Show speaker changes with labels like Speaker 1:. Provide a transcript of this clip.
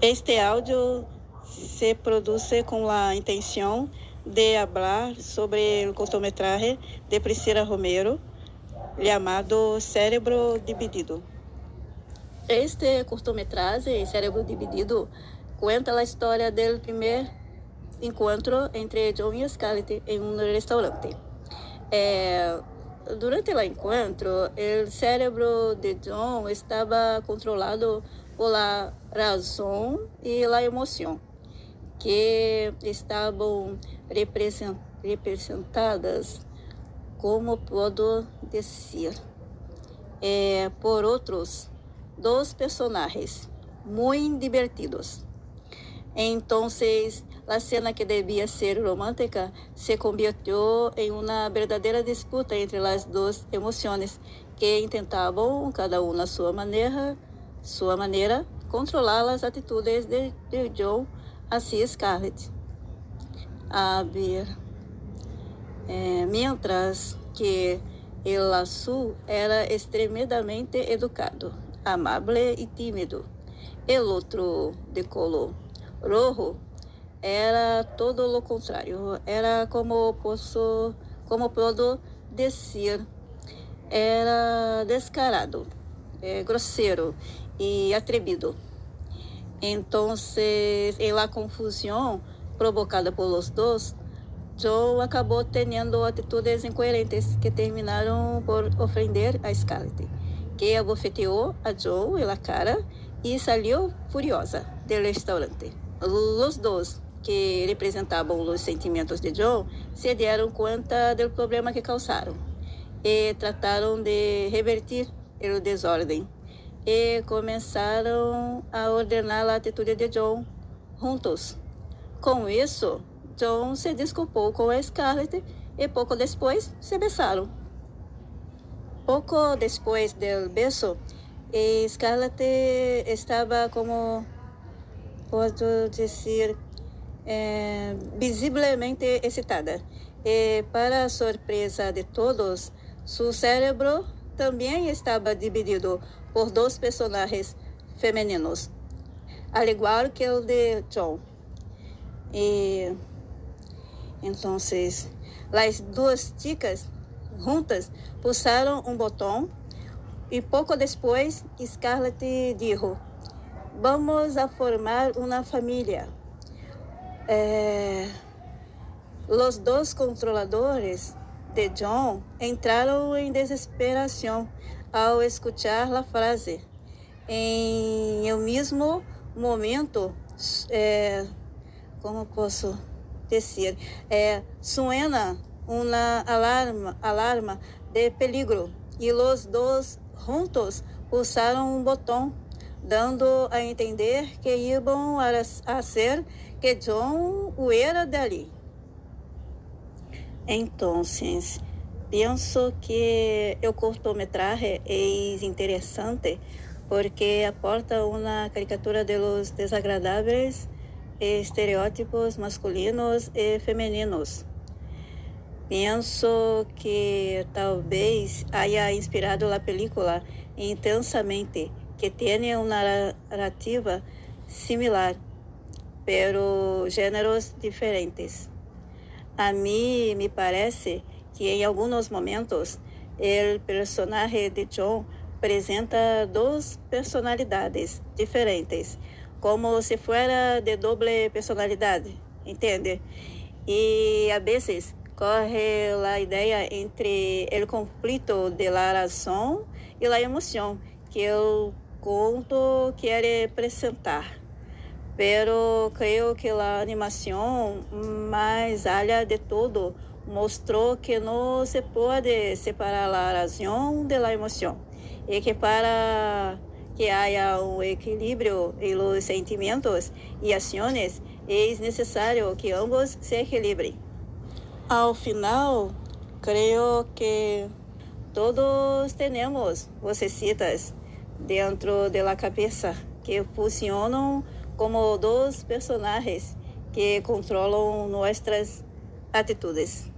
Speaker 1: Este áudio se produce com a intenção de falar sobre o cortometraje de Priscila Romero, chamado Cérebro Dividido. Este cortometraje, Cérebro Dividido, conta a história do primeiro encontro entre John e Scarlett em um restaurante. Durante o encontro, o cérebro de John estava controlado por la razão e la emoção, que estavam representadas, como posso dizer, por outros dois personagens muito divertidos. Então, a cena que devia ser romântica se convirtiu em uma verdadeira disputa entre as duas emoções que tentavam, cada uma a sua maneira, controlar as atitudes de John hacia Scarlett. A ver, mientras que el azul era extremamente educado, amable e tímido, el outro de color rojo era todo lo contrário. Era como posso dizer, era descarado, grosseiro e atrevido. Então, em la confusão provocada por los dos, John acabou tendo atitudes incoerentes que terminaram por ofender a Scarlett, que abofeteou a John en la cara e saiu furiosa do restaurante. Os dois, que representavam os sentimentos de John, se deram conta do problema que causaram e trataram de revertir o desordem e começaram a ordenar a atitude de John juntos. Com isso, John se desculpou com a Scarlett e pouco depois se beijaram. Pouco depois do beijo, Scarlett estava como posso dizer, visivelmente excitada. E, para a surpresa de todos, seu cérebro também estava dividido por dois personagens femininos, al igual que o de John. E então, as duas chicas juntas pulsaram um botão e pouco depois Scarlett disse: "Vamos a formar uma família." Os dois controladores de John entraram em desesperação ao escuchar a frase. Em el mesmo momento, como posso dizer, suena uma alarma de peligro e os dois juntos pulsaram um botão, dando a entender que iam a ser que John huera dali. Então, penso que o cortometraje é interessante porque aporta uma caricatura de los desagradáveis estereótipos masculinos e femininos. Penso que talvez haya inspirado a película intensamente, que tem uma narrativa similar, pero géneros diferentes. A mim me parece que em alguns momentos o personagem de John apresenta duas personalidades diferentes, como se fuera de doble personalidade, entende? E a vezes corre a ideia entre o conflito de la razão e la emoção que o conto quer apresentar. Pero creio que a animação mais alha de todo mostrou que não se pode separar a razão de la emoção e que para que haya um equilíbrio em los sentimentos e ações é necessário que ambos se equilibrem. Ao final, creio que todos temos vocecitas dentro da cabeça que funcionam como dois personagens que controlam nossas atitudes.